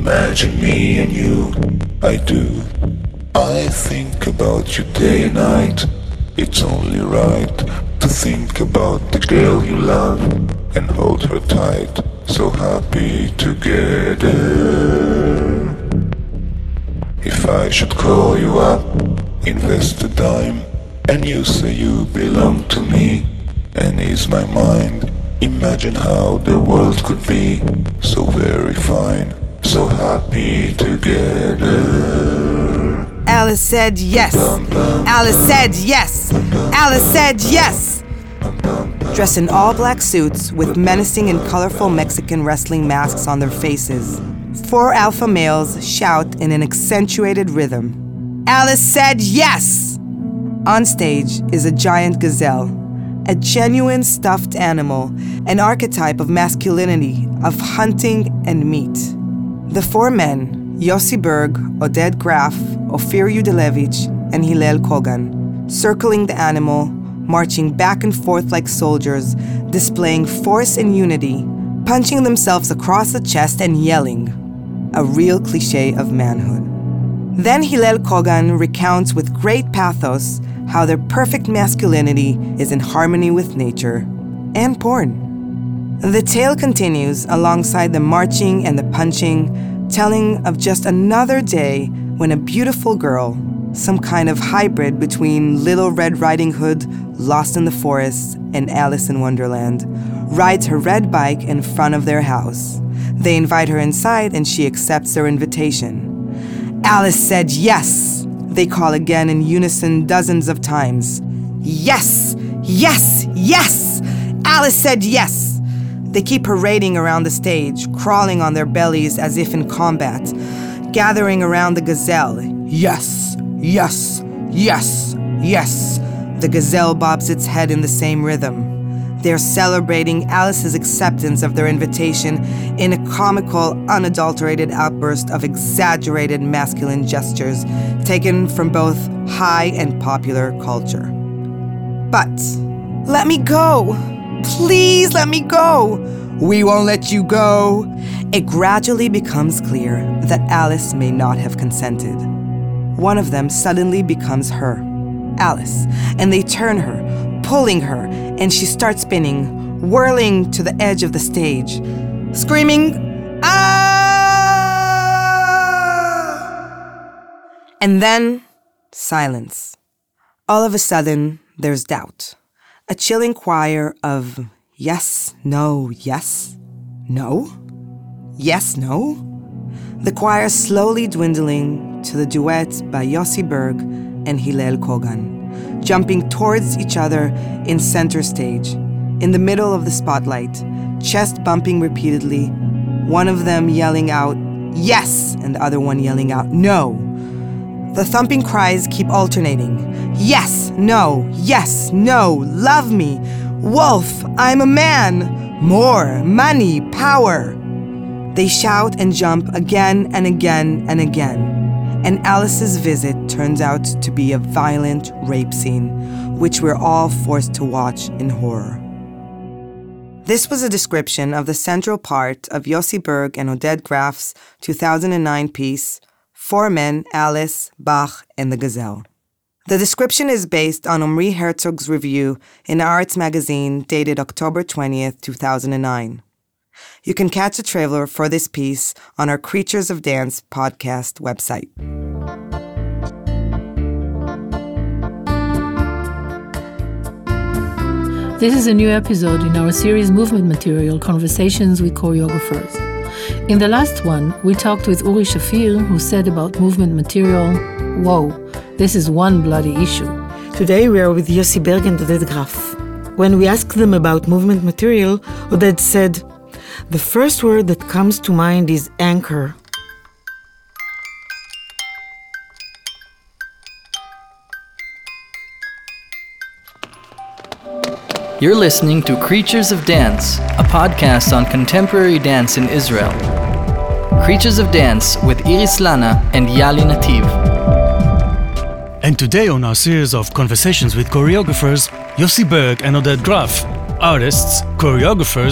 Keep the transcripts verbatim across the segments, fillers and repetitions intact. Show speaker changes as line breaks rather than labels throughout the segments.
Imagine me and you, I do. I think about you day and night. It's only right to think about the girl you love and hold her tight, so happy together. If I should call you up, invest a dime, and you say you belong to me, and ease my mind, imagine how the world could be so very fine, so happy together.
Alice said yes. Alice said yes. Alice said yes. Dressed in all black suits with menacing and colorful Mexican wrestling masks on their faces, four alpha males shout in an accentuated rhythm. Alice said yes! On stage is a giant gazelle, a genuine stuffed animal, an archetype of masculinity, of hunting and meat. The four men, Yossi Berg, Oded Graf, Ofir Yudelevich, and Hillel Kogan, circling the animal, marching back and forth like soldiers, displaying force and unity, punching themselves across the chest and yelling. A real cliché of manhood. Then Hillel Kogan recounts with great pathos how their perfect masculinity is in harmony with nature and porn. The tale continues alongside the marching and the punching, telling of just another day when a beautiful girl, some kind of hybrid between Little Red Riding Hood, Lost in the Forest, and Alice in Wonderland, rides her red bike in front of their house. They invite her inside and she accepts their invitation. Alice said yes, they call again in unison dozens of times. Yes, yes, yes! Alice said yes! They keep parading around the stage, crawling on their bellies as if in combat, gathering around the gazelle. Yes, yes, yes, yes. The gazelle bobs its head in the same rhythm. They're celebrating Alice's acceptance of their invitation in a comical, unadulterated outburst of exaggerated masculine gestures taken from both high and popular culture. But, let me go! Please let me go! We won't let you go! It gradually becomes clear that Alice may not have consented. One of them suddenly becomes her, Alice, and they turn her, pulling her, and she starts spinning, whirling to the edge of the stage, screaming, "Ah!" And then, silence. All of a sudden, there's doubt. A chilling choir of yes, no, yes, no, yes, no. The choir slowly dwindling to the duet by Yossi Berg and Hillel Kogan, jumping towards each other in center stage, in the middle of the spotlight, chest bumping repeatedly, one of them yelling out, yes, and the other one yelling out, no. The thumping cries keep alternating. Yes, no, yes, no, love me. Wolf, I'm a man. More, money, power. They shout and jump again and again and again. And Alice's visit turns out to be a violent rape scene, which we're all forced to watch in horror. This was a description of the central part of Yossi Berg and Oded Graf's two thousand nine piece, Four Men, Alice, Bach, and the Gazelle. The description is based on Omri Herzog's review in Arts magazine dated October twentieth, two thousand nine. You can catch a trailer for this piece on our Creatures of Dance podcast website.
This is a new episode in our series Movement Material, Conversations with Choreographers. In the last one, we talked with Uri Shafir, who said about movement material, whoa, this is one bloody issue.
Today we are with Yossi Berg and Oded Graf. When we asked them about movement material, Oded said, the first word that comes to mind is anchor.
You're listening to Creatures of Dance, a podcast on contemporary dance in Israel. Creatures of Dance with Iris Lana and Yali Nativ.
And today on our series of Conversations with Choreographers, Yossi Berg and Oded Graf, artists, choreographers,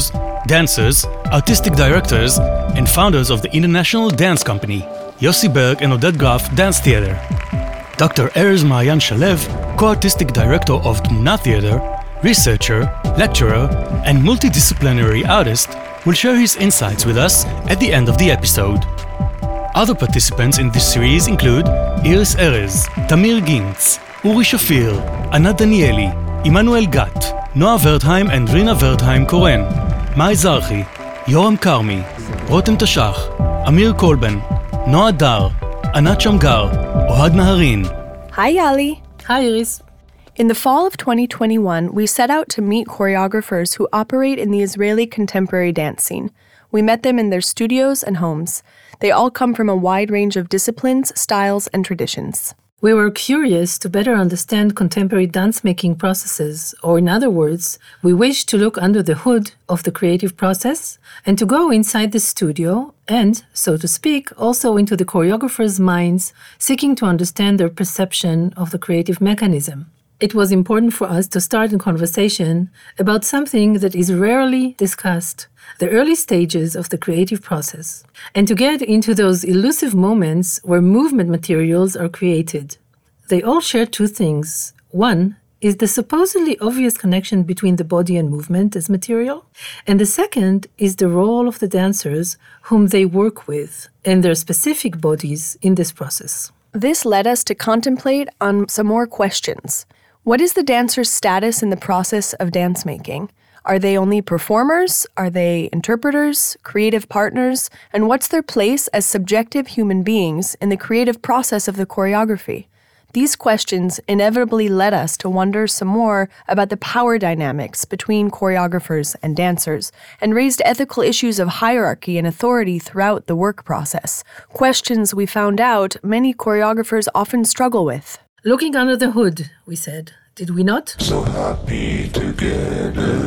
dancers, artistic directors, and founders of the International Dance Company, Yossi Berg and Oded Graf Dance Theater. Doctor Erez Maayan Shalev, co-artistic director of Tmuna Theater, researcher, lecturer, and multidisciplinary artist, will share his insights with us at the end of the episode. Other participants in this series include Iris Erez, Tamir Gintz, Uri Shafir, Anat Danieli, Immanuel Gat, Noah Wertheim and Rina Wertheim-Koren, Mai Zarchi, Yoram Karmi, Rotem Tashach, Amir Kolben, Noah Dar, Anat Shamgar, Ohad Naharin.
Hi, Yali.
Hi, Iris.
In the fall of twenty twenty-one, we set out to meet choreographers who operate in the Israeli contemporary dance scene. We met them in their studios and homes. They all come from a wide range of disciplines, styles, and traditions.
We were curious to better understand contemporary dance-making processes, or in other words, we wished to look under the hood of the creative process and to go inside the studio and, so to speak, also into the choreographers' minds, seeking to understand their perception of the creative mechanism. It was important for us to start a conversation about something that is rarely discussed, the early stages of the creative process, and to get into those elusive moments where movement materials are created. They all share two things. One is the supposedly obvious connection between the body and movement as material, and the second is the role of the dancers whom they work with and their specific bodies in this process.
This led us to contemplate on some more questions. What is the dancer's status in the process of dance making? Are they only performers? Are they interpreters, creative partners? And what's their place as subjective human beings in the creative process of the choreography? These questions inevitably led us to wonder some more about the power dynamics between choreographers and dancers, and raised ethical issues of hierarchy and authority throughout the work process, questions we found out many choreographers often struggle with.
Looking under the hood, we said, did we not?
So happy together.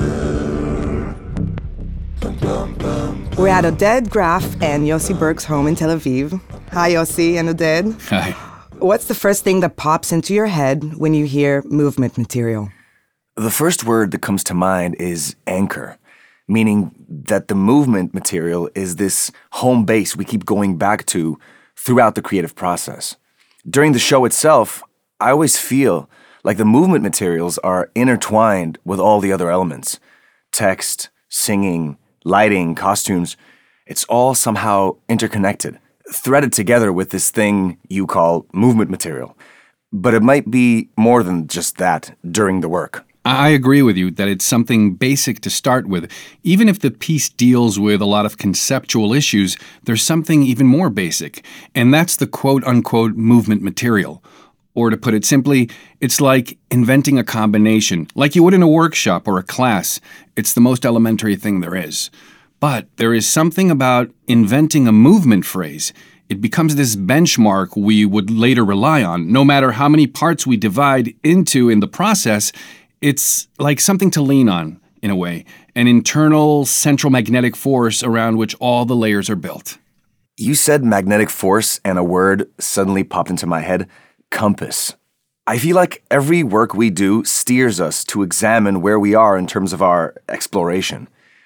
Bum, bum, bum,
We're at Oded Graf and Yossi Berg's home in Tel Aviv. Hi, Yossi and Oded.
Hi.
What's the first thing that pops into your head when you hear movement material?
The first word that comes to mind is anchor, meaning that the movement material is this home base we keep going back to throughout the creative process. During the show itself, I always feel like the movement materials are intertwined with all the other elements. Text, singing, lighting, costumes, it's all somehow interconnected, threaded together with this thing you call movement material. But it might be more than just that during the work.
I agree with you that it's something basic to start with. Even if the piece deals with a lot of conceptual issues, there's something even more basic, and that's the quote-unquote movement material. Or to put it simply, it's like inventing a combination, like you would in a workshop or a class. It's the most elementary thing there is. But there is something about inventing a movement phrase. It becomes this benchmark we would later rely on. No matter how many parts we divide into in the process, it's like something to lean on, in a way, an internal central magnetic force around which all the layers are built.
You said magnetic force, and a word suddenly popped into my head. Compass. I feel like every work we do steers us to examine where we are in terms of our exploration.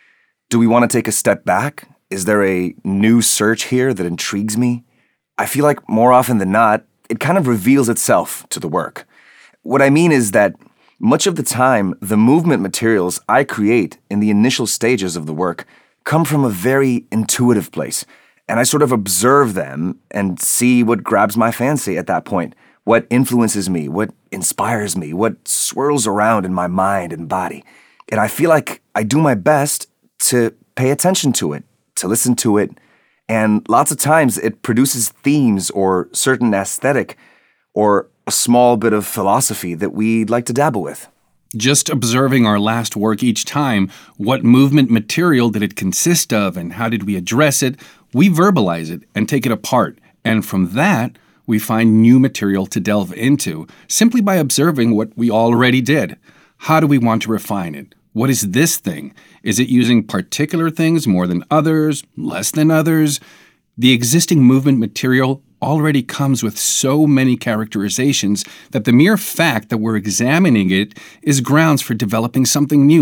Do we want to take a step back? Is there a new search here that intrigues me? I feel like more often than not, it kind of reveals itself to the work. What I mean is that much of the time, the movement materials I create in the initial stages of the work come from a very intuitive place, and I sort of observe them and see what grabs my fancy at that point. What influences me, what inspires me, what swirls around in my mind and body. And I feel like I do my best to pay attention to it, to listen to it, and lots of times it produces themes or certain aesthetic or a small bit of philosophy that we'd like to dabble with.
Just observing our last work each time, what movement material did it consist of and how did we address it, we verbalize it and take it apart. And from that, we find new material to delve into, simply by observing what we already did. How do we want to refine it? What is this thing? Is it using particular things more than others, less than others? The existing movement material already comes with so many characterizations that the mere fact that we're examining it is grounds for developing something new.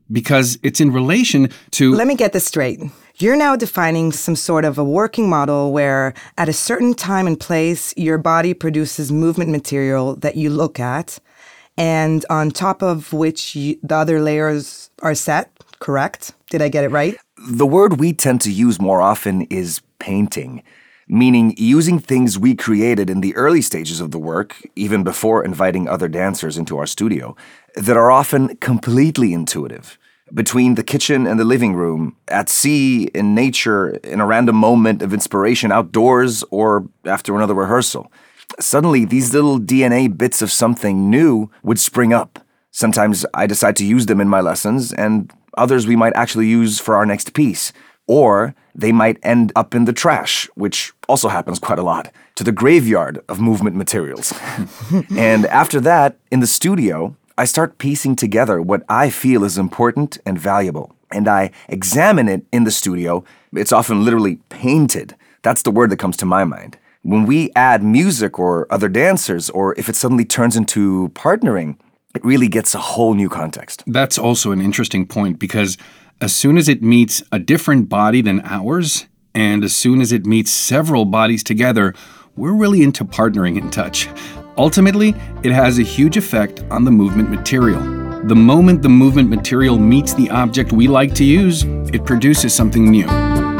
because it's in relation to...
Let me get this straight. You're now defining some sort of a working model where at a certain time and place, your body produces movement material that you look at, and on top of which you, the other layers are set, correct? Did I get it right?
The word we tend to use more often is painting, meaning using things we created in the early stages of the work, even before inviting other dancers into our studio, that are often completely intuitive. Between the kitchen and the living room, at sea, in nature, in a random moment of inspiration outdoors, or after another rehearsal. Suddenly, these little D N A bits of something new would spring up. Sometimes I decide to use them in my lessons, and others we might actually use for our next piece. Or they might end up in the trash, which also happens quite a lot, to the graveyard of movement materials. And after that, in the studio, I start piecing together what I feel is important and valuable. And I examine it in the studio. It's often literally painted. That's the word that comes to my mind. When we add music or other dancers, or if it suddenly turns into partnering, it really gets a whole new context.
That's also an interesting point, because as soon as it meets a different body than ours, and as soon as it meets several bodies together, we're really into partnering in touch. Ultimately, it has a huge effect on the movement material. The moment the movement material meets the object we like to use, it produces something new.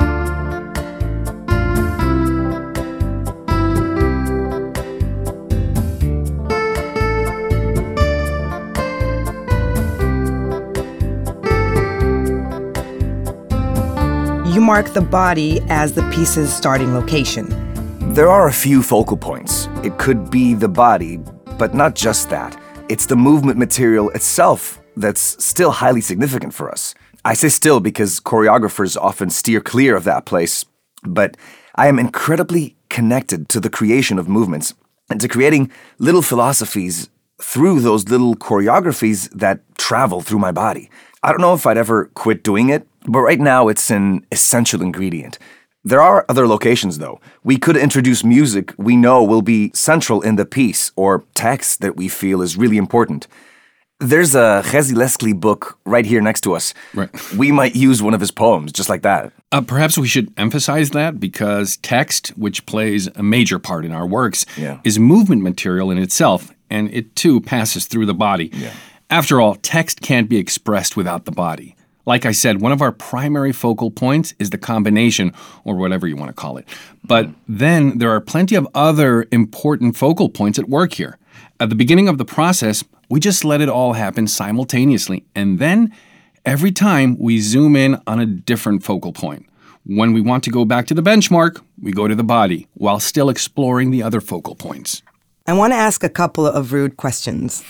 You mark the body as the piece's starting location.
There are a few focal points. It could be the body, but not just that. It's the movement material itself that's still highly significant for us. I say still because choreographers often steer clear of that place, but I am incredibly connected to the creation of movements and to creating little philosophies through those little choreographies that travel through my body. I don't know if I'd ever quit doing it, but right now it's an essential ingredient. There are other locations, though. We could introduce music we know will be central in the piece, or text that we feel is really important. There's a Chezi Leslie book right here next to us.
Right.
We might use one of his poems, just like that.
Uh, perhaps we should emphasize that, because text, which plays a major part in our works,
Yeah.
is movement material in itself, and it too passes through the body.
Yeah.
After all, text can't be expressed without the body. Like I said, one of our primary focal points is the combination, or whatever you want to call it. But then there are plenty of other important focal points at work here. At the beginning of the process, we just let it all happen simultaneously. And then, every time, we zoom in on a different focal point. When we want to go back to the benchmark, we go to the body, while still exploring the other focal points.
I want to ask a couple of rude questions.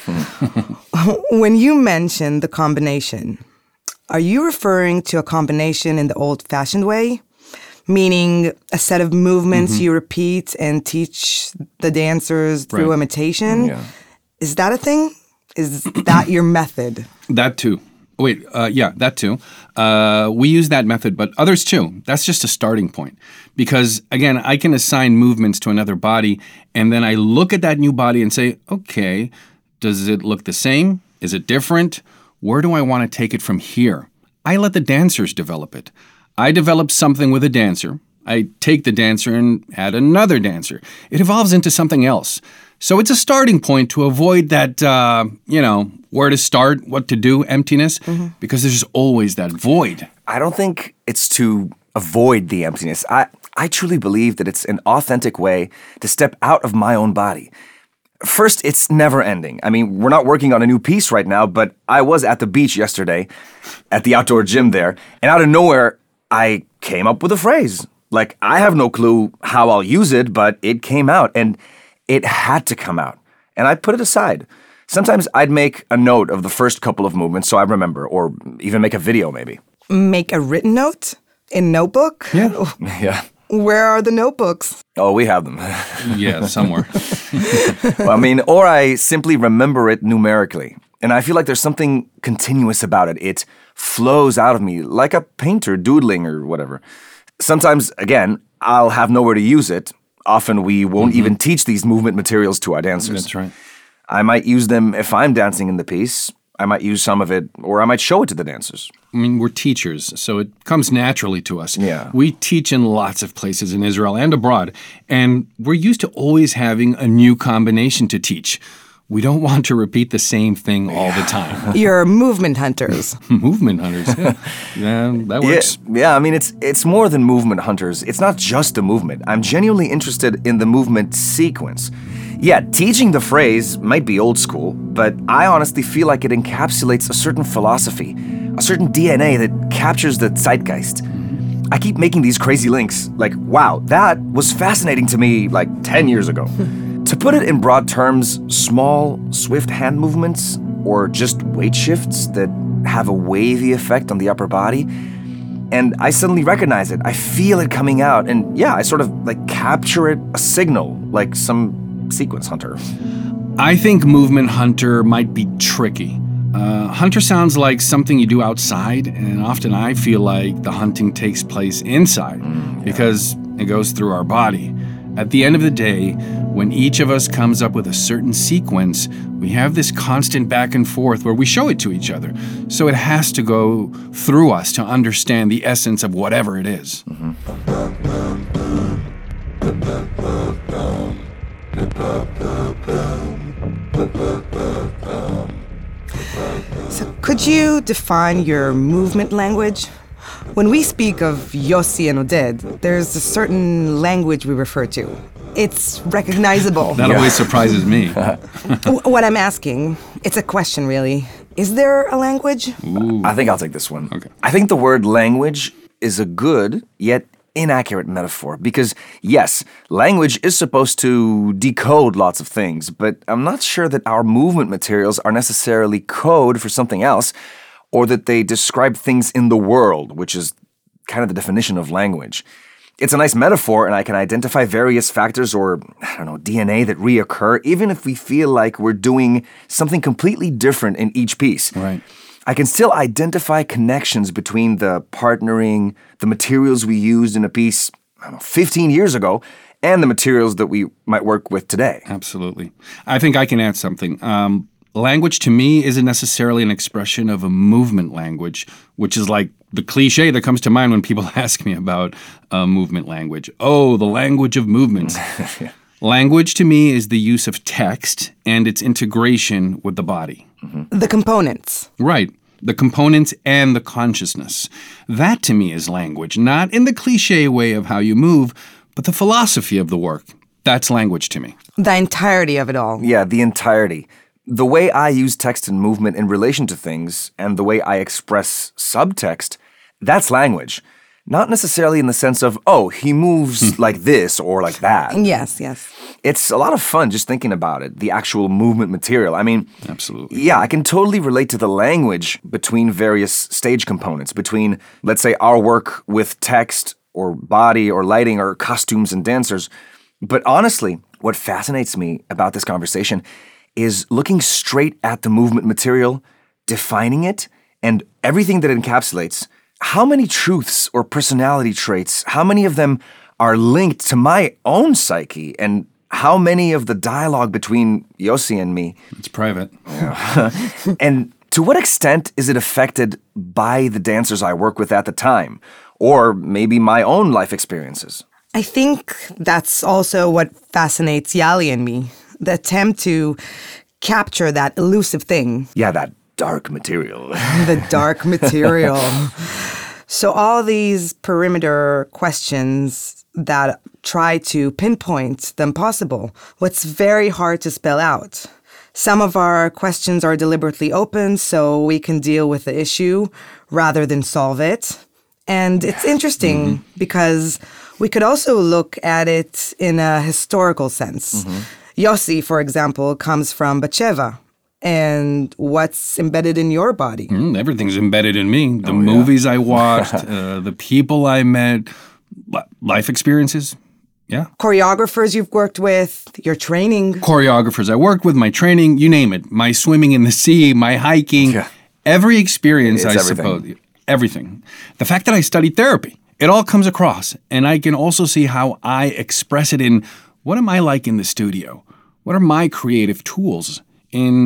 When you mention the combination, are you referring to a combination in the old-fashioned way? Meaning a set of movements mm-hmm. you repeat and teach the dancers through
right.
imitation?
Yeah.
Is that a thing? Is that your method?
That too. Wait, uh, yeah, that too. Uh, we use that method, but others too. That's just a starting point. Because, again, I can assign movements to another body, and then I look at that new body and say, okay, does it look the same? Is it different? Where do I want to take it from here? I let the dancers develop it. I develop something with a dancer. I take the dancer and add another dancer. It evolves into something else. So it's a starting point to avoid that, uh, you know, where to start, what to do, emptiness, mm-hmm. because there's always that void.
I don't think it's to avoid the emptiness. I, I truly believe that it's an authentic way to step out of my own body. First, it's never ending. I mean, we're not working on a new piece right now, but I was at the beach yesterday, at the outdoor gym there, and out of nowhere, I came up with a phrase. Like, I have no clue how I'll use it, but it came out, and it had to come out. And I put it aside. Sometimes I'd make a note of the first couple of movements so I remember, or even make a video maybe.
Make a written note? In notebook?
Yeah. Yeah.
Where are the notebooks?
Oh, we have them.
Yeah, somewhere.
Well, I mean, or I simply remember it numerically. And I feel like there's something continuous about it. It flows out of me like a painter doodling or whatever. Sometimes, again, I'll have nowhere to use it. Often we won't mm-hmm. even teach these movement materials to our dancers.
That's right.
I might use them if I'm dancing in the piece. I might use some of it, or I might show it to the dancers.
I mean, we're teachers, so it comes naturally to us.
Yeah.
We teach in lots of places in Israel and abroad, and we're used to always having a new combination to teach. We don't want to repeat the same thing all the time.
You're movement hunters.
Movement hunters, yeah. yeah that works.
Yeah, yeah, I mean, it's it's more than movement hunters. It's not just the movement. I'm genuinely interested in the movement sequence. Yeah, teaching the phrase might be old school, but I honestly feel like it encapsulates a certain philosophy, a certain D N A that captures the zeitgeist. I keep making these crazy links, like, wow, that was fascinating to me like ten years ago. To put it in broad terms, small, swift hand movements, or just weight shifts that have a wavy effect on the upper body, and I suddenly recognize it. I feel it coming out, and yeah, I sort of like capture it, a signal, like some sequence hunter.
I think movement hunter might be tricky. Uh, hunter sounds like something you do outside, and often I feel like the hunting takes place inside mm, yeah. because it goes through our body. At the end of the day, when each of us comes up with a certain sequence, we have this constant back and forth where we show it to each other. So it has to go through us to understand the essence of whatever it is.
Mm-hmm.
So could you define your movement language? When we speak of Yossi and Oded, there's a certain language we refer to. It's recognizable.
That always surprises me.
What I'm asking, it's a question really. Is there a language?
Ooh.
I think I'll take this one.
Okay.
I think the word language is a good, yet inaccurate metaphor because, yes, language is supposed to decode lots of things, but I'm not sure that our movement materials are necessarily code for something else, or that they describe things in the world, which is kind of the definition of language. It's a nice metaphor, and I can identify various factors or, I don't know, D N A that reoccur, even if we feel like we're doing something completely different in each piece.
Right.
I can still identify connections between the partnering, the materials we used in a piece, I don't know, fifteen years ago, and the materials that we might work with today.
Absolutely. I think I can add something. Um, Language to me isn't necessarily an expression of a movement language, which is like the cliche that comes to mind when people ask me about uh, movement language. Oh, the language of movements.
Yeah.
Language to me is the use of text and its integration with the body.
Mm-hmm. The components.
Right. The components and the consciousness. That to me is language, not in the cliche way of how you move, but the philosophy of the work. That's language to me.
The entirety of it all.
Yeah, the entirety. The way I use text and movement in relation to things, and the way I express subtext, that's language. Not necessarily in the sense of, oh, he moves like this or like that.
Yes, yes.
It's a lot of fun just thinking about it, the actual movement material. I mean,
absolutely.
Yeah, I can totally relate to the language between various stage components, between, let's say, our work with text or body or lighting or costumes and dancers. But honestly, what fascinates me about this conversation is looking straight at the movement material, defining it, and everything that it encapsulates. How many truths or personality traits, how many of them are linked to my own psyche, and how many of the dialogue between Yossi and me?
It's private.
Yeah. And to what extent is it affected by the dancers I work with at the time, or maybe my own life experiences?
I think that's also what fascinates Yali and me. The attempt to capture that elusive thing.
Yeah, that dark material.
The dark material. So all these perimeter questions that try to pinpoint the impossible, what's very hard to spell out. Some of our questions are deliberately open so we can deal with the issue rather than solve it. And it's interesting mm-hmm. because we could also look at it in a historical sense. Mm-hmm. Yossi, for example, comes from Batsheva. And what's embedded in your body?
Mm, everything's embedded in me. The
oh,
movies
yeah.
I watched, uh, the people I met, life experiences. Yeah.
Choreographers you've worked with, your training.
Choreographers I worked with, my training, you name it. My swimming in the sea, my hiking. Yeah. Every experience,
it's
I
everything.
suppose. Everything. The fact that I studied therapy, it all comes across. And I can also see how I express it in what am I like in the studio? What are my creative tools in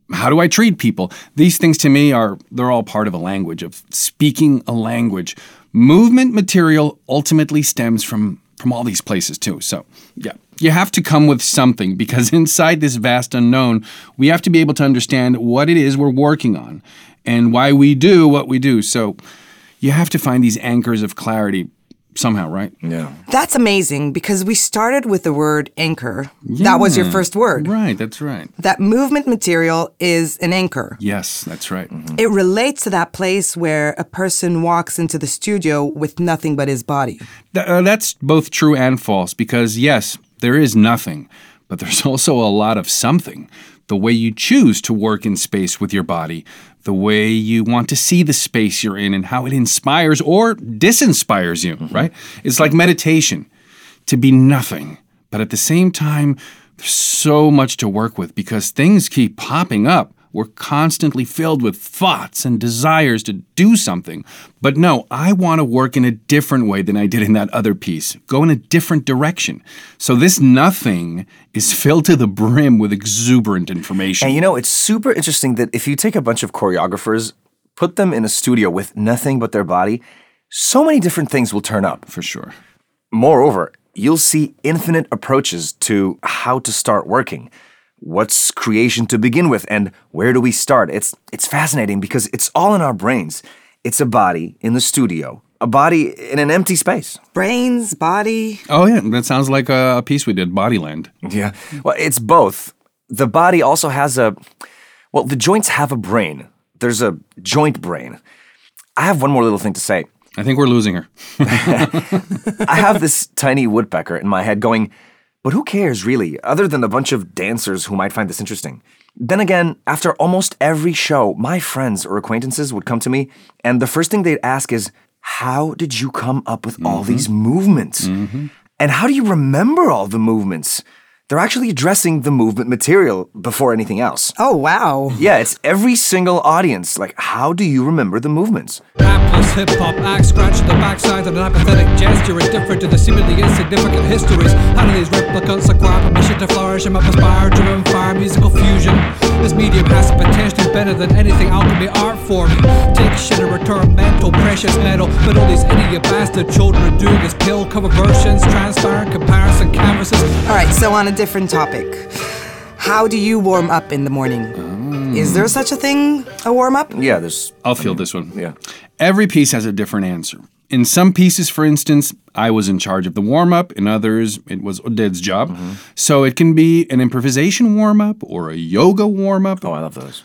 How do I treat people? These things to me are, they're all part of a language, of speaking a language. Movement material ultimately stems from, from all these places too. So, yeah, you have to come with something, because inside this vast unknown, we have to be able to understand what it is we're working on and why we do what we do. So you have to find these anchors of clarity somehow, right?
Yeah.
That's amazing, because we started with the word anchor. That was your
Yeah.
first word.
Right, that's right.
That movement material is an anchor.
Yes, that's right. Mm-hmm.
It relates to that place where a person walks into the studio with nothing but his body.
Th- uh, that's both true and false, because yes, there is nothing, but there's also a lot of something. The way you choose to work in space with your body, the way you want to see the space you're in, and how it inspires or disinspires you, mm-hmm. right? It's like meditation, to be nothing. But at the same time, there's so much to work with, because things keep popping up. We're constantly filled with thoughts and desires to do something. But no, I want to work in a different way than I did in that other piece. Go in a different direction. So this nothing is filled to the brim with exuberant information.
And you know, it's super interesting that if you take a bunch of choreographers, put them in a studio with nothing but their body, so many different things will turn up.
For sure.
Moreover, you'll see infinite approaches to how to start working. What's creation to begin with, and where do we start? It's it's fascinating, because it's all in our brains. It's a body in the studio, a body in an empty space.
Brains, body.
Oh yeah, that sounds like a piece we did, Bodyland.
Yeah. Well, it's both. The body also has a, well, the joints have a brain. There's a joint brain. I have one more little thing to say.
I think we're losing her.
I have this tiny woodpecker in my head going, but who cares, really, other than a bunch of dancers who might find this interesting? Then again, after almost every show, my friends or acquaintances would come to me, and the first thing they'd ask is, how did you come up with mm-hmm. all these movements? Mm-hmm. And how do you remember all the movements? They're actually addressing the movement material before anything else.
Oh, wow.
Yeah, it's every single audience. Like, how do you remember the movements?
Rap plus hip-hop act, scratching the backside of an apathetic gesture, indifferent to the seemingly insignificant histories. How do these replicants acquire permission to flourish and map aspire to inspire musical fusion? This medium has the potential better than anything alchemy art form. Take shit and return mental, precious metal. But all these idiot bastard children are doing is pill cover versions, transparent comparison canvases.
All right, so on a different topic. How do you warm up in the morning? Mm. Is there such a thing, a warm-up?
Yeah, there's...
I'll field this one.
Yeah.
Every piece has a different answer. In some pieces, for instance, I was in charge of the warm-up. In others, it was Oded's job. Mm-hmm. So it can be an improvisation warm-up or a yoga warm-up.
Oh, I love those.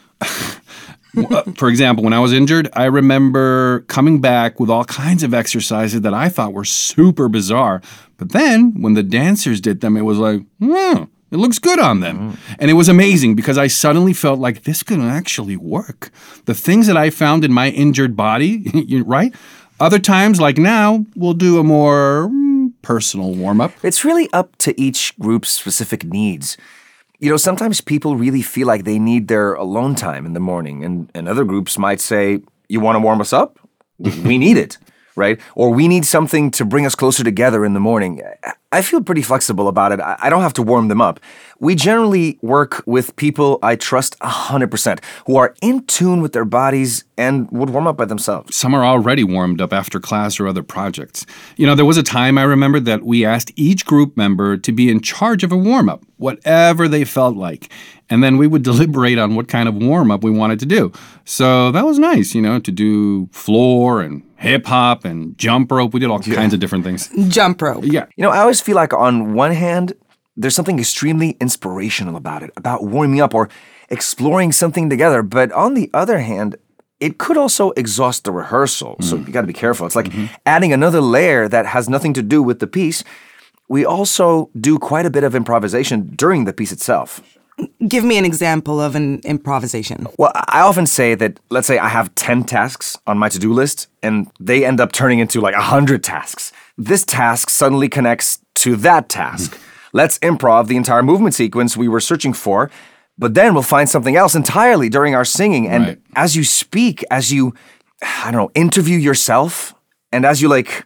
For example, when I was injured, I remember coming back with all kinds of exercises that I thought were super bizarre. But then, when the dancers did them, it was like, hmm, it looks good on them. Mm-hmm. And it was amazing, because I suddenly felt like this could actually work. The things that I found in my injured body, right? Other times, like now, we'll do a more mm, personal warm-up.
It's really up to each group's specific needs. You know, sometimes people really feel like they need their alone time in the morning, and, and other groups might say, you want to warm us up? We need it, right? Or we need something to bring us closer together in the morning. I feel pretty flexible about it. I don't have to warm them up. We generally work with people I trust one hundred percent, who are in tune with their bodies and would warm up by themselves.
Some are already warmed up after class or other projects. You know, there was a time I remember that we asked each group member to be in charge of a warm-up, whatever they felt like. And then we would deliberate on what kind of warm-up we wanted to do. So that was nice, you know, to do floor and hip-hop and jump rope. We did all yeah. kinds of different things.
Jump rope.
Yeah.
You know, I always feel like on one hand, there's something extremely inspirational about it, about warming up or exploring something together. But on the other hand, it could also exhaust the rehearsal. Mm. So you got to be careful. It's like mm-hmm. adding another layer that has nothing to do with the piece. We also do quite a bit of improvisation during the piece itself.
Give me an example of an improvisation.
Well, I often say that, let's say I have ten tasks on my to-do list, and they end up turning into like one hundred tasks. This task suddenly connects to that task. Let's improv the entire movement sequence we were searching for, but then we'll find something else entirely during our singing. And
right.
as you speak, as you, I don't know, interview yourself, and as you like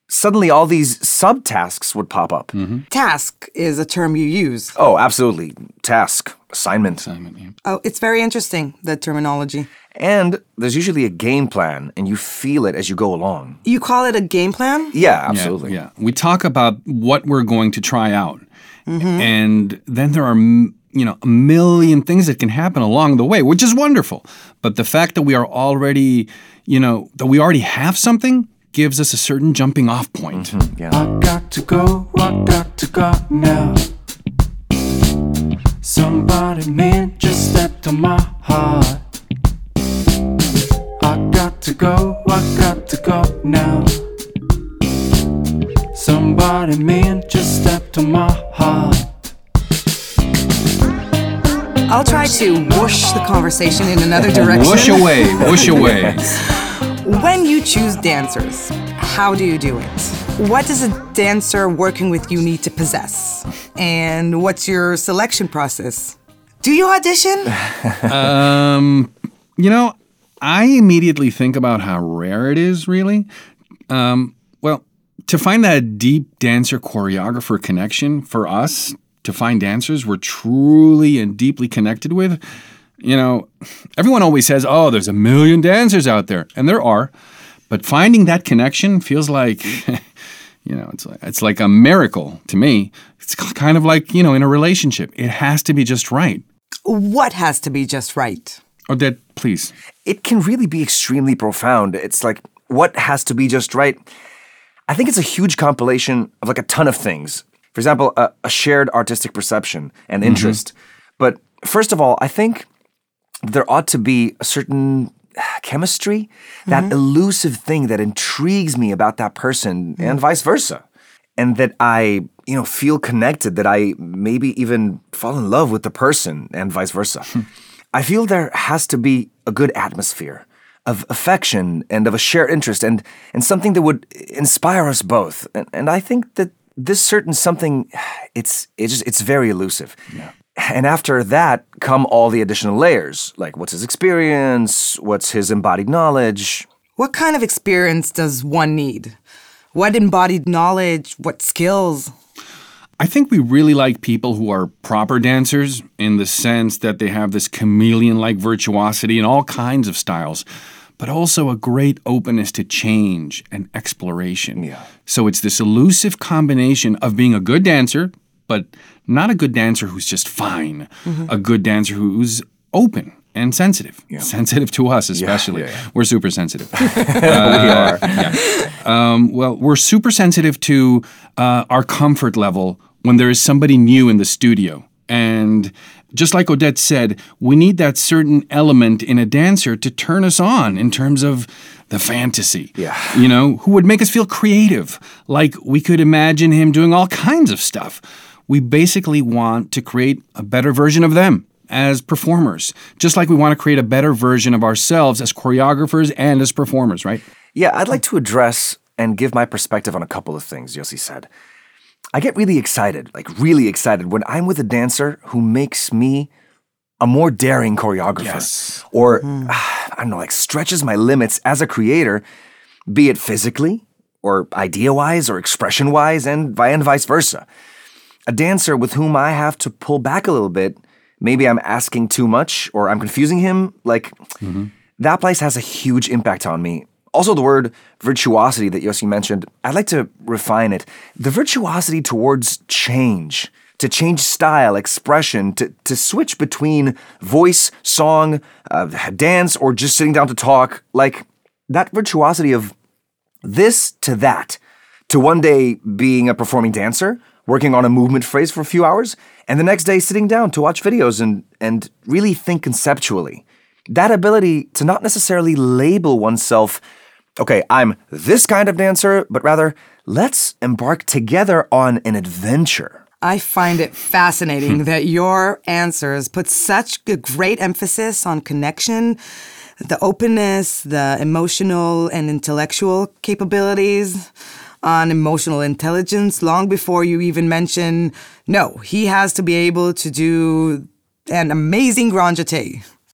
suddenly all these subtasks would pop up.
Mm-hmm.
Task is a term you use.
Oh, absolutely. Task, assignment.
Assignment, yeah.
Oh, it's very interesting, the terminology.
And there's usually a game plan, and you feel it as you go along.
You call it a game plan?
Yeah, absolutely.
Yeah, yeah. We talk about what we're going to try out.
Mm-hmm.
And then there are, you know, a million things that can happen along the way, which is wonderful. But the fact that we are already, you know, that we already have something gives us a certain jumping off point.
Mm-hmm. Yeah.
I got to go, I got to go now. Somebody man just stepped on my heart. I got to go, I got to go now. Somebody man just stepped on my heart.
I'll try to whoosh the conversation in another direction.
Whoosh away, whoosh away.
When you choose dancers, how do you do it? What does a dancer working with you need to possess? And what's your selection process? Do you audition?
um, you know, I immediately think about how rare it is, really. Um, well, to find that deep dancer-choreographer connection for us, to find dancers we're truly and deeply connected with, you know, everyone always says, oh, there's a million dancers out there. And there are. But finding that connection feels like, you know, it's like, it's like a miracle to me. It's kind of like, you know, in a relationship. It has to be just right.
What has to be just right?
Odette, please.
It can really be extremely profound. It's like, what has to be just right? I think it's a huge compilation of like a ton of things. For example, a, a shared artistic perception and interest. Mm-hmm. But first of all, I think there ought to be a certain chemistry, that mm-hmm. elusive thing that intrigues me about that person mm-hmm. and vice versa. And that I, you know, feel connected, that I maybe even fall in love with the person and vice versa. I feel there has to be a good atmosphere of affection and of a shared interest and, and something that would inspire us both. And, and I think that this certain something, it's it's just, it's very elusive. Yeah. And after that come all the additional layers, like what's his experience, what's his embodied knowledge.
What kind of experience does one need? What embodied knowledge, what skills?
I think we really like people who are proper dancers in the sense that they have this chameleon-like virtuosity in all kinds of styles, but also a great openness to change and exploration.
Yeah.
So it's this elusive combination of being a good dancer, but not a good dancer who's just fine, mm-hmm. a good dancer who's open and sensitive. Yeah. Sensitive to us, especially. Yeah, yeah, yeah. We're super sensitive. uh,
we are.
Yeah. Um, well, we're super sensitive to uh, our comfort level when there is somebody new in the studio. And just like Odette said, we need that certain element in a dancer to turn us on in terms of the fantasy.
Yeah.
You know, who would make us feel creative, like we could imagine him doing all kinds of stuff. We basically want to create a better version of them as performers, just like we want to create a better version of ourselves as choreographers and as performers, right?
Yeah, I'd like to address and give my perspective on a couple of things Yossi said. I get really excited, like really excited, when I'm with a dancer who makes me a more daring choreographer.
Yes.
Or, mm. I don't know, like stretches my limits as a creator, be it physically, or idea-wise, or expression-wise, and, and vice versa. A dancer with whom I have to pull back a little bit, maybe I'm asking too much, or I'm confusing him, like, mm-hmm. that place has a huge impact on me. Also, the word virtuosity that Yossi mentioned, I'd like to refine it. The virtuosity towards change, to change style, expression, to, to switch between voice, song, uh, dance, or just sitting down to talk. Like, that virtuosity of this to that, to one day being a performing dancer, working on a movement phrase for a few hours, and the next day sitting down to watch videos and, and really think conceptually. That ability to not necessarily label oneself, okay, I'm this kind of dancer, but rather, let's embark together on an adventure.
I find it fascinating that your answers put such a great emphasis on connection, the openness, the emotional and intellectual capabilities, on emotional intelligence, long before you even mention, no, he has to be able to do an amazing grand jeté.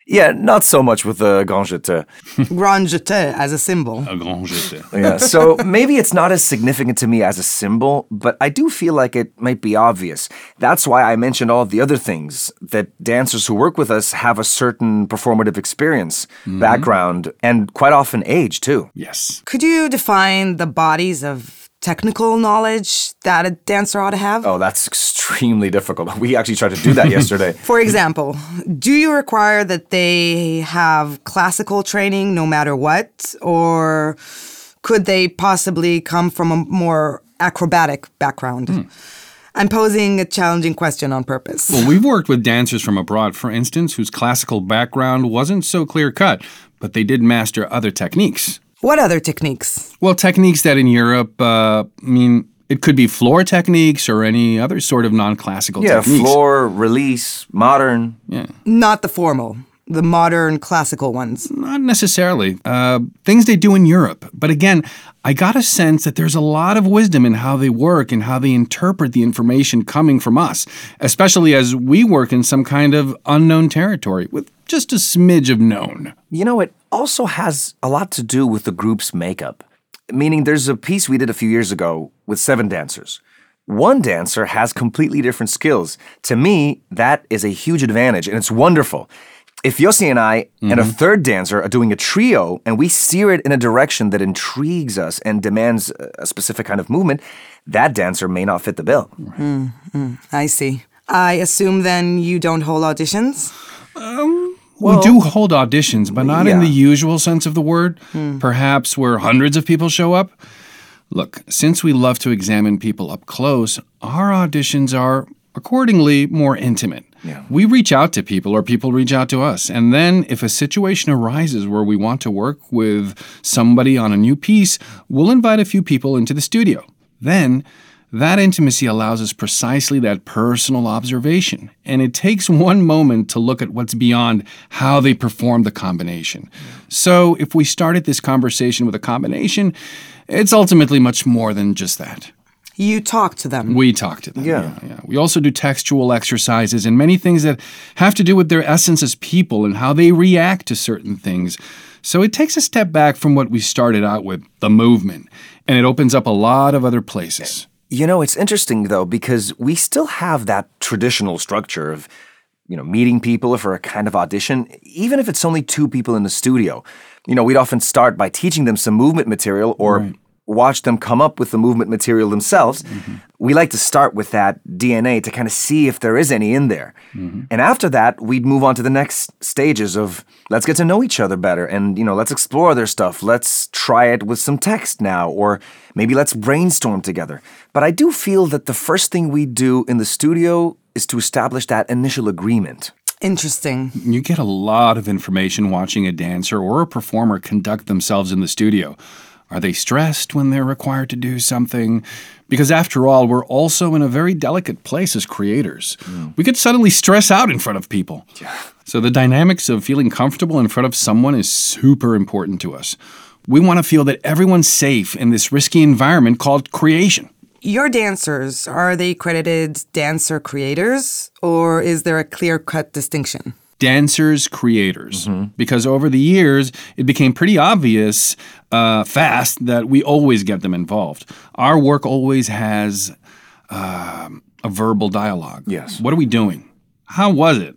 Yeah, not so much with the grand jeté.
Grand jeté as a symbol.
A grand jeté.
Yeah, so maybe it's not as significant to me as a symbol, but I do feel like it might be obvious. That's why I mentioned all of the other things, that dancers who work with us have a certain performative experience, mm-hmm. background, and quite often age, too.
Yes.
Could you define the bodies of technical knowledge that a dancer ought to have?
Oh, that's extremely difficult. We actually tried to do that yesterday.
For example, do you require that they have classical training no matter what? Or could they possibly come from a more acrobatic background? Hmm. I'm posing a challenging question on purpose.
Well, we've worked with dancers from abroad, for instance, whose classical background wasn't so clear-cut, but they did master other techniques.
What other techniques?
Well, techniques that in Europe, uh, I mean, it could be floor techniques or any other sort of non-classical
yeah,
techniques.
Yeah, floor, release, modern.
Yeah.
Not the formal, the modern classical ones.
Not necessarily. Uh, things they do in Europe. But again, I got a sense that there's a lot of wisdom in how they work and how they interpret the information coming from us, especially as we work in some kind of unknown territory with just a smidge of known.
You know, it also has a lot to do with the group's makeup. Meaning there's a piece we did a few years ago with seven dancers. One dancer has completely different skills. To me, that is a huge advantage, and it's wonderful. If Yossi and I mm-hmm. and a third dancer are doing a trio and we steer it in a direction that intrigues us and demands a specific kind of movement, that dancer may not fit the bill.
Mm-hmm. I see. I assume then you don't hold auditions?
Um... Well, we do hold auditions, but not yeah. in the usual sense of the word. Hmm. Perhaps where hundreds of people show up. Look, since we love to examine people up close, our auditions are, accordingly, more intimate. Yeah. We reach out to people or people reach out to us. And then if a situation arises where we want to work with somebody on a new piece, we'll invite a few people into the studio. Then that intimacy allows us precisely that personal observation, and it takes one moment to look at what's beyond how they perform the combination. So if we started this conversation with a combination, it's ultimately much more than just that.
You talk to them.
We talk to them,
yeah.
yeah, yeah. We also do textual exercises and many things that have to do with their essence as people and how they react to certain things. So it takes a step back from what we started out with, the movement, and it opens up a lot of other places.
You know, it's interesting, though, because we still have that traditional structure of, you know, meeting people for a kind of audition, even if it's only two people in the studio. You know, we'd often start by teaching them some movement material or right. watch them come up with the movement material themselves. Mm-hmm. We like to start with that D N A to kind of see if there is any in there. Mm-hmm. And after that, we'd move on to the next stages of let's get to know each other better and, you know, let's explore their stuff. Let's try it with some text now, or maybe let's brainstorm together. But I do feel that the first thing we do in the studio is to establish that initial agreement.
Interesting.
You get a lot of information watching a dancer or a performer conduct themselves in the studio. Are they stressed when they're required to do something? Because after all, we're also in a very delicate place as creators. Mm. We could suddenly stress out in front of people.
Yeah.
So the dynamics of feeling comfortable in front of someone is super important to us. We want to feel that everyone's safe in this risky environment called creation.
Your dancers, are they credited dancer creators, or is there a clear-cut distinction?
Dancers, creators. Mm-hmm. Because over the years, it became pretty obvious uh, fast that we always get them involved. Our work always has uh, a verbal dialogue.
Yes.
What are we doing? How was it?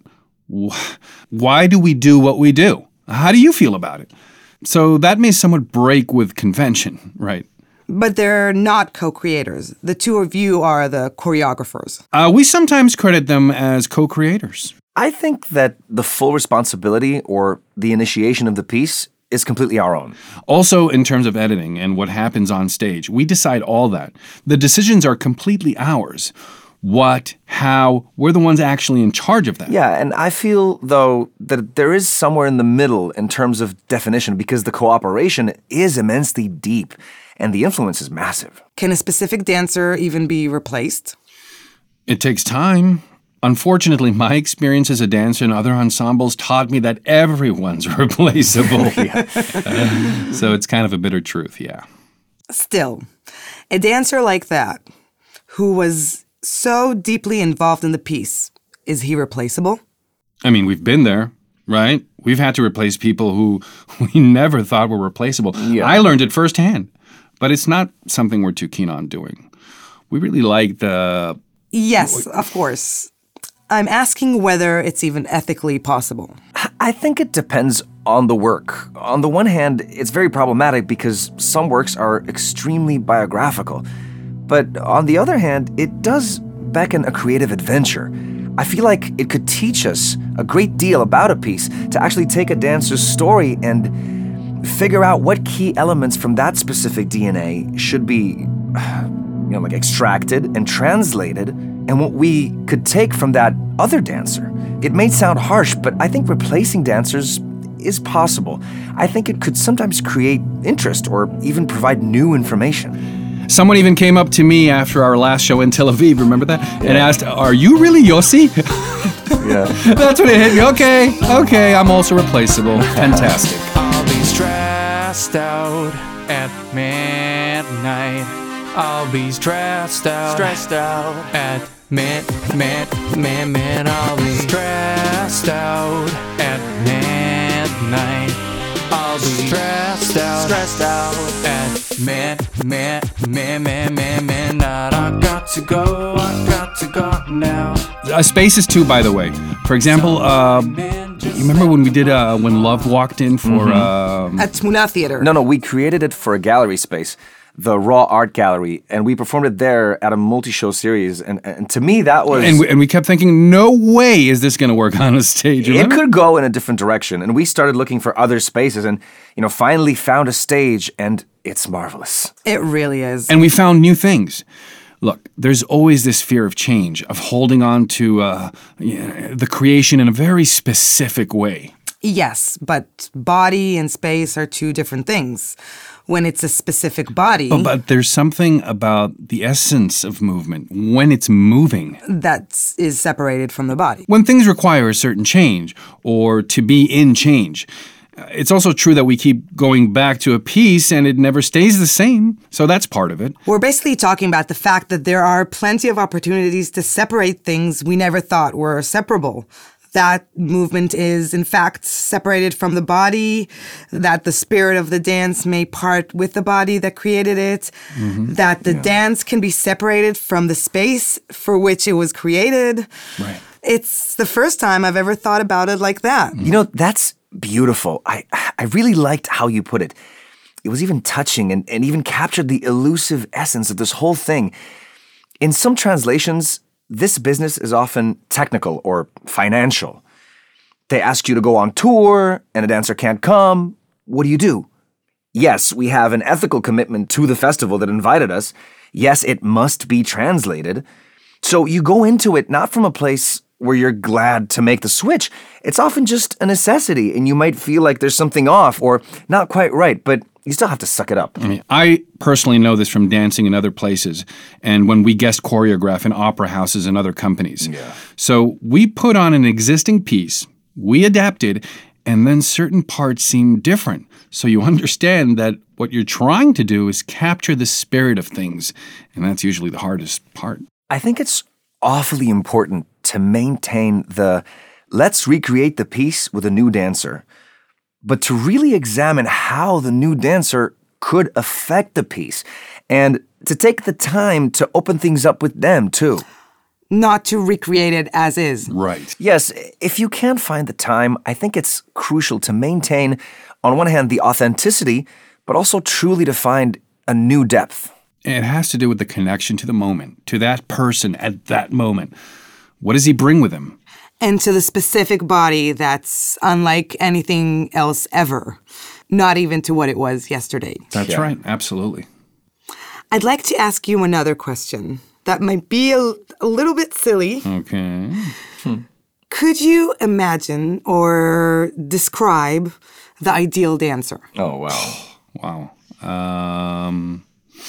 Why do we do what we do? How do you feel about it? So that may somewhat break with convention, right?
But they're not co-creators. The two of you are the choreographers.
Uh, we sometimes credit them as co-creators.
I think that the full responsibility or the initiation of the piece is completely our own.
Also, in terms of editing and what happens on stage, we decide all that. The decisions are completely ours. What, how, we're the ones actually in charge of that.
Yeah, and I feel, though, that there is somewhere in the middle in terms of definition because the cooperation is immensely deep and the influence is massive.
Can a specific dancer even be replaced?
It takes time. Unfortunately, my experience as a dancer in other ensembles taught me that everyone's replaceable. uh, so it's kind of a bitter truth, yeah.
Still, a dancer like that, who was so deeply involved in the piece, is he replaceable?
I mean, we've been there, right? We've had to replace people who we never thought were replaceable.
Yeah.
I learned it firsthand, but it's not something we're too keen on doing. We really like the...
Yes, of course. I'm asking whether it's even ethically possible.
I think it depends on the work. On the one hand, it's very problematic because some works are extremely biographical. But on the other hand, it does beckon a creative adventure. I feel like it could teach us a great deal about a piece to actually take a dancer's story and figure out what key elements from that specific D N A should be, you know, like extracted and translated, and what we could take from that other dancer. It may sound harsh, but I think replacing dancers is possible. I think it could sometimes create interest or even provide new information.
Someone even came up to me after our last show in Tel Aviv, remember that? Yeah. And asked, are you really Yossi?
Yeah.
That's when it hit me. Okay, okay, I'm also replaceable. Fantastic.
I'll be stressed out at midnight. I'll be stressed out, stressed out at mid, mid, mid, mid. I'll be stressed out at midnight. I'll be stressed out, stressed out at mid, mid, mid, mid, mid, midnight. I got to go, I got to go now.
Uh, Spaces too, by the way. For example, uh, you remember when we did uh, when Love walked in for
Mm-hmm.
um,
At Tmuna Theater.
No, no, we created it for a gallery space, the Raw Art Gallery, and we performed it there at a multi-show series. And, and to me, that was...
and we, and we kept thinking, no way is this going to work on a stage.
It
Remember?
could go in a different direction. And we started looking for other spaces and, you know, finally found a stage, and it's marvelous.
It really is.
And we found new things. Look, there's always this fear of change, of holding on to uh, yeah, the creation in a very specific way.
Yes, but body and space are two different things. When it's a specific body,
Oh, but there's something about the essence of movement when it's moving.
that is separated from the body.
When things require a certain change or to be in change. Uh, It's also true that we keep going back to a piece and it never stays the same. So that's part of it.
We're basically talking about the fact that there are plenty of opportunities to separate things we never thought were separable. That movement is, in fact, separated from the body, that the spirit of the dance may part with the body that created it, that the dance can be separated from the space for which it was created.
Right.
It's the first time I've ever thought about it like that.
You know, that's beautiful. I I really liked how you put it. It was even touching and, and even captured the elusive essence of this whole thing. In some translations, this business is often technical or financial. They ask you to go on tour and a dancer can't come. What do you do? Yes, we have an ethical commitment to the festival that invited us. Yes, it must be translated. So you go into it not from a place where you're glad to make the switch. It's often just a necessity, and you might feel like there's something off or not quite right, but you still have to suck it up.
I mean, I personally know this from dancing in other places and when we guest choreograph in opera houses and other companies.
Yeah.
So we put on an existing piece, we adapted, and then certain parts seem different. So you understand that what you're trying to do is capture the spirit of things, and that's usually the hardest part.
I think it's awfully important to maintain the let's recreate the piece with a new dancer, but to really examine how the new dancer could affect the piece and to take the time to open things up with them too.
Not to recreate it as is.
Right.
Yes, if you can't find the time, I think it's crucial to maintain, on one hand, the authenticity, but also truly to find a new depth.
It has to do with the connection to the moment, to that person at that moment. What does he bring with him?
And to the specific body that's unlike anything else ever, not even to what it was yesterday.
That's
Yeah.
right, absolutely.
I'd like to ask you another question that might be a, a little bit silly.
Okay.
Could you imagine or describe the ideal dancer?
Oh, wow.
Wow. Um,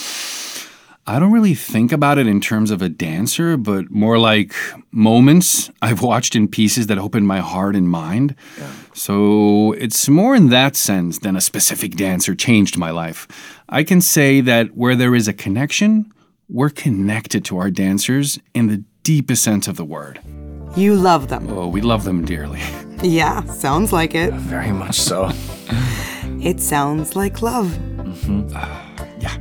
I don't really think about it in terms of a dancer, but more like moments I've watched in pieces that opened my heart and mind. Yeah. So it's more in that sense than a specific dancer changed my life. I can say that where there is a connection, we're connected to our dancers in the deepest sense of the word.
You love them.
Oh, we love them dearly.
Yeah, sounds like it.
Very much so.
It sounds like love.
Mm-hmm. Yeah.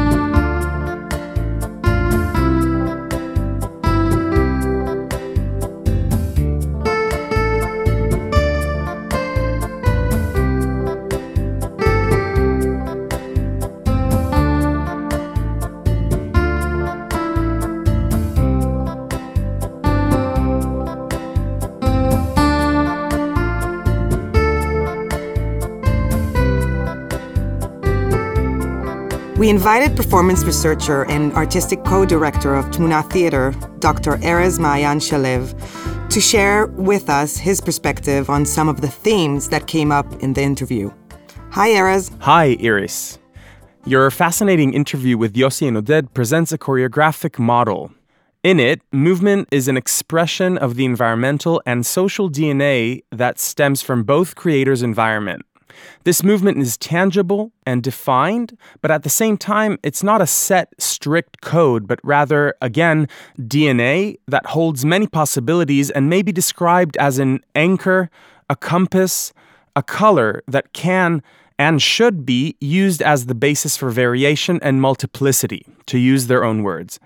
We invited performance researcher and artistic co-director of Tmuna Theater, Doctor Erez Maayan Shalev, to share with us his perspective on some of the themes that came up in the interview. Hi, Erez.
Hi, Iris. Your fascinating interview with Yossi and Oded presents a choreographic model. In it, movement is an expression of the environmental and social D N A that stems from both creators' environment. This movement is tangible and defined, but at the same time, it's not a set, strict code, but rather, again, D N A that holds many possibilities and may be described as an anchor, a compass, a color that can and should be used as the basis for variation and multiplicity, to use their own words.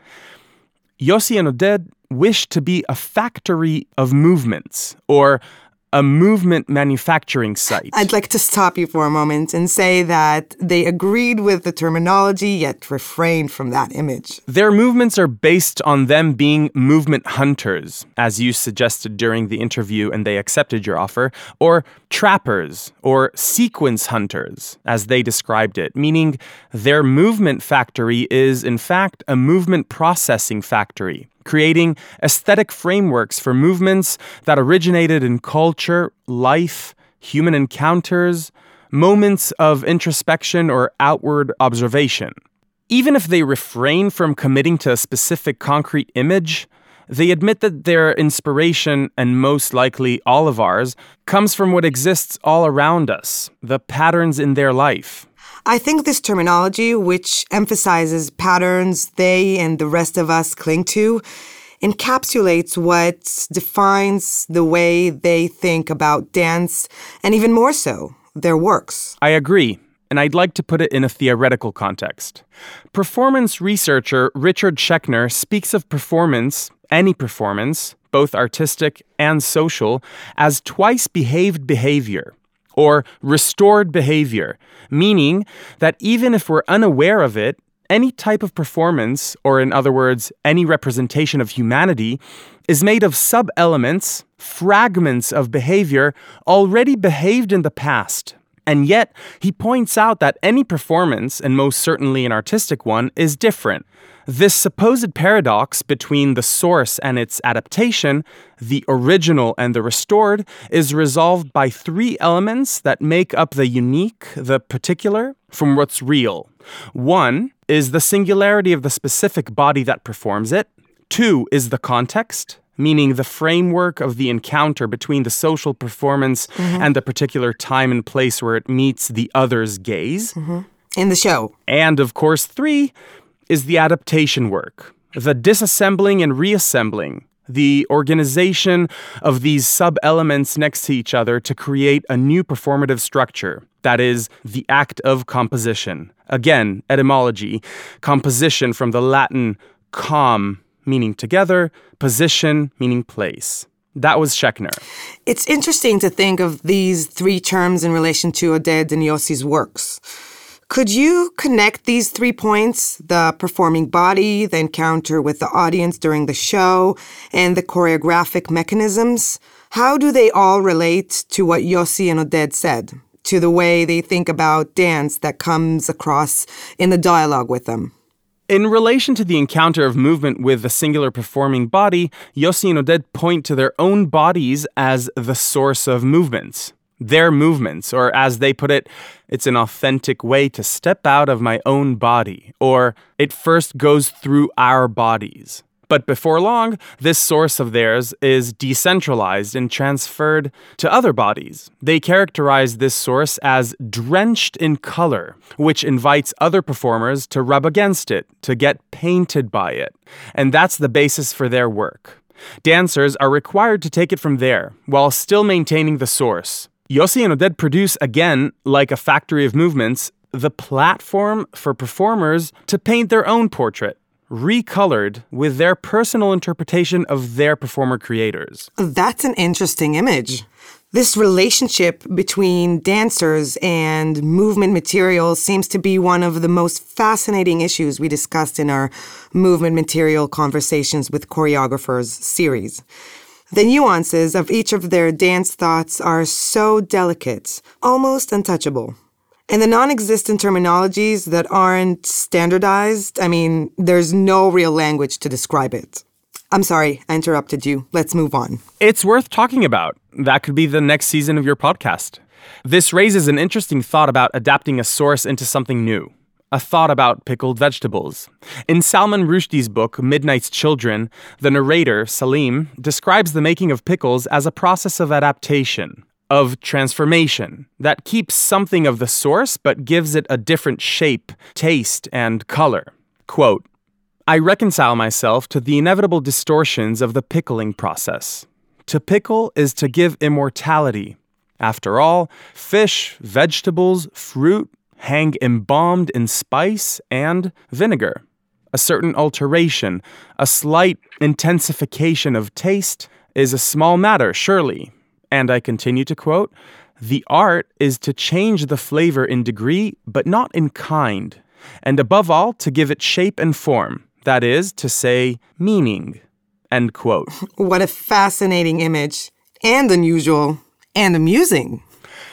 Yossi and Oded wish to be a factory of movements, or a movement manufacturing site.
I'd like to stop you for a moment and say that they agreed with the terminology, yet refrained from that image.
Their movements are based on them being movement hunters, as you suggested during the interview and they accepted your offer, or trappers, or sequence hunters, as they described it, meaning their movement factory is, in fact, a movement processing factory, creating aesthetic frameworks for movements that originated in culture, life, human encounters, moments of introspection or outward observation. Even if they refrain from committing to a specific concrete image, they admit that their inspiration, and most likely all of ours, comes from what exists all around us, the patterns in their life.
I think this terminology, which emphasizes patterns they and the rest of us cling to, encapsulates what defines the way they think about dance, and even more so, their works.
I agree, and I'd like to put it in a theoretical context. Performance researcher Richard Schechner speaks of performance, any performance, both artistic and social, as twice-behaved behavior, or restored behavior, meaning that even if we're unaware of it, any type of performance, or in other words, any representation of humanity, is made of sub-elements, fragments of behavior already behaved in the past. And yet, he points out that any performance, and most certainly an artistic one, is different. This supposed paradox between the source and its adaptation, the original and the restored, is resolved by three elements that make up the unique, the particular, from what's real. One is the singularity of the specific body that performs it. Two is the context, meaning the framework of the encounter between the social performance mm-hmm. and the particular time and place where it meets the other's gaze.
Mm-hmm. In the show.
And, of course, three is the adaptation work, the disassembling and reassembling, the organization of these sub-elements next to each other to create a new performative structure. That is, the act of composition. Again, etymology, composition from the Latin com, meaning together, position, meaning place. That was Schechner.
It's interesting to think of these three terms in relation to Oded and Yossi's works. Could you connect these three points, the performing body, the encounter with the audience during the show, and the choreographic mechanisms? How do they all relate to what Yossi and Oded said, to the way they think about dance that comes across in the dialogue with them?
In relation to the encounter of movement with the singular performing body, Yossi and Oded point to their own bodies as the source of movements. Their movements, or as they put it, it's an authentic way to step out of my own body, or it first goes through our bodies. But before long, this source of theirs is decentralized and transferred to other bodies. They characterize this source as drenched in color, which invites other performers to rub against it, to get painted by it. And that's the basis for their work. Dancers are required to take it from there, while still maintaining the source. Yossi and Oded produce, again, like a factory of movements, the platform for performers to paint their own portrait, recolored with their personal interpretation of their performer creators.
That's an interesting image. This relationship between dancers and movement material seems to be one of the most fascinating issues we discussed in our Movement Material Conversations with Choreographers series. The nuances of each of their dance thoughts are so delicate, almost untouchable. And the non-existent terminologies that aren't standardized, I mean, there's no real language to describe it. I'm sorry, I interrupted you. Let's move on.
It's worth talking about. That could be the next season of your podcast. This raises an interesting thought about adapting a source into something new. A thought about pickled vegetables. In Salman Rushdie's book, Midnight's Children, the narrator, Salim, describes the making of pickles as a process of adaptation, of transformation, that keeps something of the source but gives it a different shape, taste, and color. Quote, I reconcile myself to the inevitable distortions of the pickling process. To pickle is to give immortality. After all, fish, vegetables, fruit hang embalmed in spice and vinegar. A certain alteration, a slight intensification of taste is a small matter, surely. And I continue to quote, the art is to change the flavor in degree, but not in kind, and above all, to give it shape and form. That is to say, meaning, end quote.
What a fascinating image, and unusual, and amusing.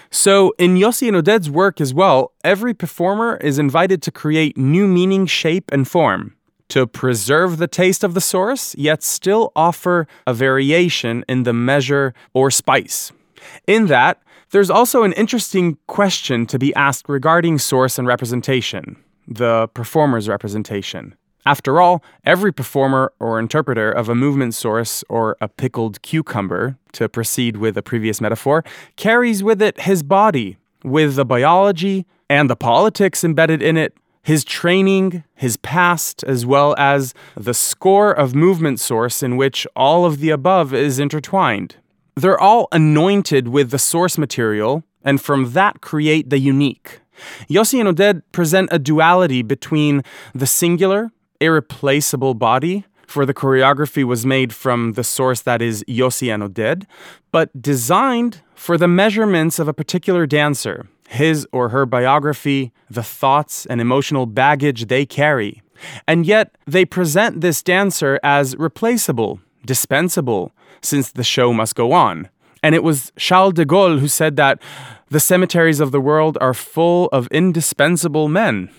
So in Yossi and Oded's work as well, every performer is invited to create new meaning, shape, and form, to preserve the taste of the source, yet still offer a variation in the measure or spice. In that, there's also an interesting question to be asked regarding source and representation, the performer's representation. After all, every performer or interpreter of a movement source or a pickled cucumber, to proceed with a previous metaphor, carries with it his body, with the biology and the politics embedded in it, his training, his past, as well as the score of movement source in which all of the above is intertwined. They're all anointed with the source material, and from that create the unique. Yossi and Oded present a duality between the singular, irreplaceable body, for the choreography was made from the source that is Yossi and Oded, but designed for the measurements of a particular dancer, his or her biography, the thoughts and emotional baggage they carry. And yet, they present this dancer as replaceable, dispensable, since the show must go on. And it was Charles de Gaulle who said that the cemeteries of the world are full of indispensable men.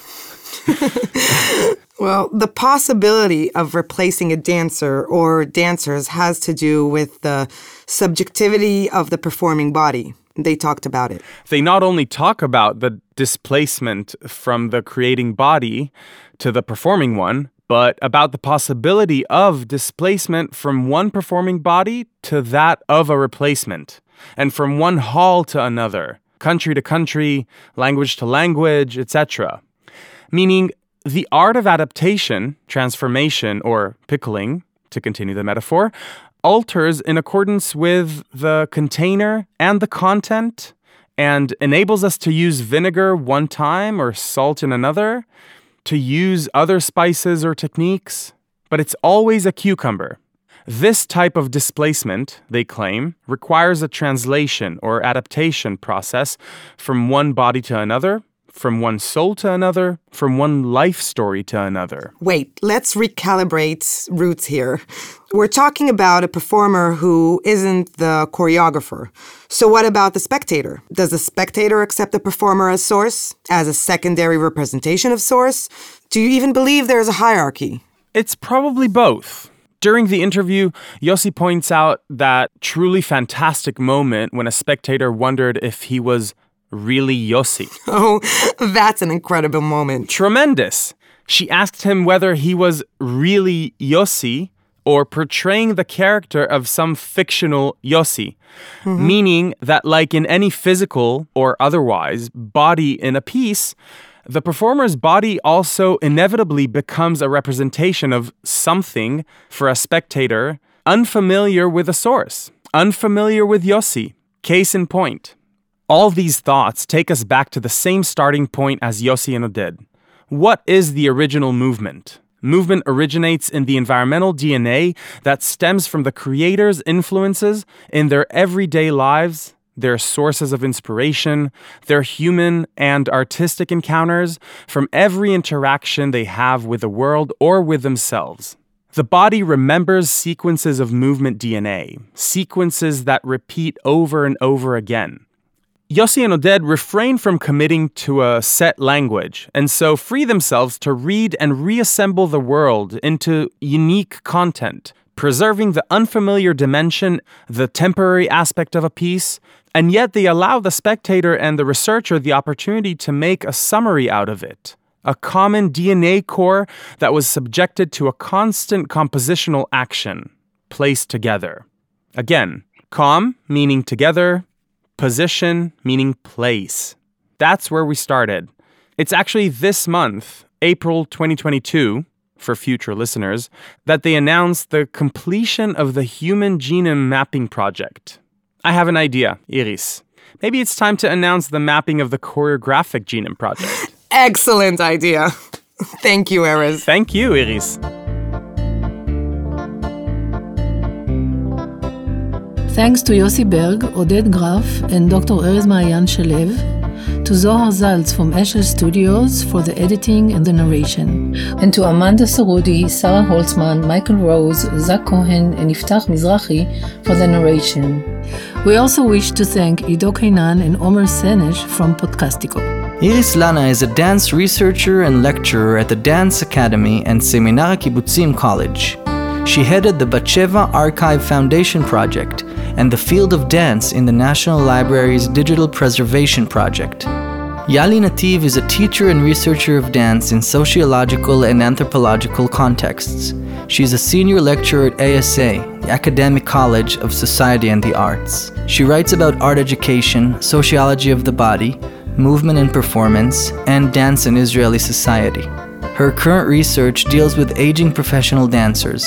Well, the possibility of replacing a dancer or dancers has to do with the subjectivity of the performing body. They talked about it.
They not only talk about the displacement from the creating body to the performing one, but about the possibility of displacement from one performing body to that of a replacement, and from one hall to another, country to country, language to language, et cetera. Meaning, the art of adaptation, transformation, or pickling, to continue the metaphor, alters in accordance with the container and the content, and enables us to use vinegar one time or salt in another, to use other spices or techniques, but it's always a cucumber. This type of displacement, they claim, requires a translation or adaptation process from one body to another, from one soul to another, from one life story to another.
Wait, let's recalibrate roots here. We're talking about a performer who isn't the choreographer. So what about the spectator? Does the spectator accept the performer as source, as a secondary representation of source? Do you even believe there is a hierarchy?
It's probably both. During the interview, Yossi points out that truly fantastic moment when a spectator wondered if he was really Yossi.
Oh, that's an incredible moment.
Tremendous. She asked him whether he was really Yossi or portraying the character of some fictional Yossi, mm-hmm. meaning that like in any physical or otherwise body in a piece, the performer's body also inevitably becomes a representation of something for a spectator unfamiliar with a source, unfamiliar with Yossi. Case in point. All these thoughts take us back to the same starting point as Yossi and Oded. What is the original movement? Movement originates in the environmental D N A that stems from the creators' influences in their everyday lives, their sources of inspiration, their human and artistic encounters, from every interaction they have with the world or with themselves. The body remembers sequences of movement D N A, sequences that repeat over and over again. Yossi and Oded refrain from committing to a set language, and so free themselves to read and reassemble the world into unique content, preserving the unfamiliar dimension, the temporary aspect of a piece, and yet they allow the spectator and the researcher the opportunity to make a summary out of it, a common D N A core that was subjected to a constant compositional action, placed together. Again, com meaning together, position meaning place. That's where we started. It's actually this month, April twenty twenty-two, for future listeners, that they announced the completion of the Human Genome Mapping Project. I have an idea, Iris. Maybe it's time to announce the mapping of the Choreographic Genome Project.
Excellent idea. Thank you, Erez.
Thank you, Iris.
Thanks to Yossi Berg, Oded Graf, and Doctor Erez Maayan Shalev, to Zohar Zaltz from Eshel Studios for the editing and the narration, and to Amanda Sarudi, Sarah Holtzman, Michael Rose, Zach Cohen, and Iftach Mizrahi for the narration. We also wish to thank Ido Kainan and Omer Senesh from Podcastico.
Iris Lana is a dance researcher and lecturer at the Dance Academy and Seminar Kibbutzim College. She headed the Batsheva Archive Foundation Project and the Field of Dance in the National Library's Digital Preservation Project. Yali Nativ is a teacher and researcher of dance in sociological and anthropological contexts. She's a senior lecturer at A S A, the Academic College of Society and the Arts. She writes about art education, sociology of the body, movement and performance, and dance in Israeli society. Her current research deals with aging professional dancers.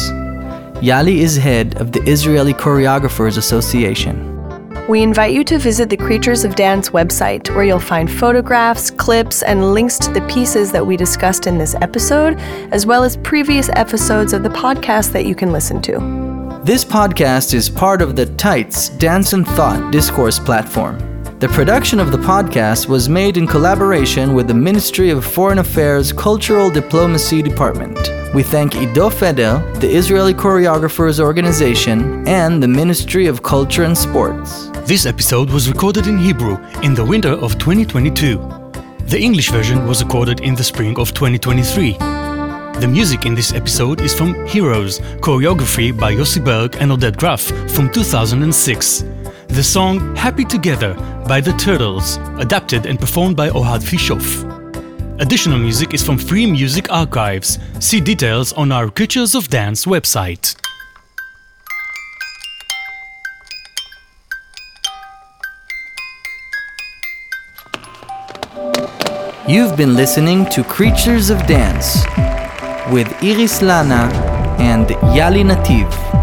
Yali is head of the Israeli Choreographers Association.
We invite you to visit the Creatures of Dance website, where you'll find photographs, clips, and links to the pieces that we discussed in this episode, as well as previous episodes of the podcast that you can listen to.
This podcast is part of the Tights Dance and Thought discourse platform. The production of the podcast was made in collaboration with the Ministry of Foreign Affairs Cultural Diplomacy Department. We thank Ido Feder, the Israeli Choreographers Organization, and the Ministry of Culture and Sports.
This episode was recorded in Hebrew in the winter of twenty twenty-two. The English version was recorded in the spring of twenty twenty-three. The music in this episode is from Heroes, choreography by Yossi Berg and Oded Graf from two thousand six. The song Happy Together by The Turtles, adapted and performed by Ohad Fishof. Additional music is from Free Music Archives. See details on our Creatures of Dance website.
You've been listening to Creatures of Dance with Iris Lana and Yali Nativ.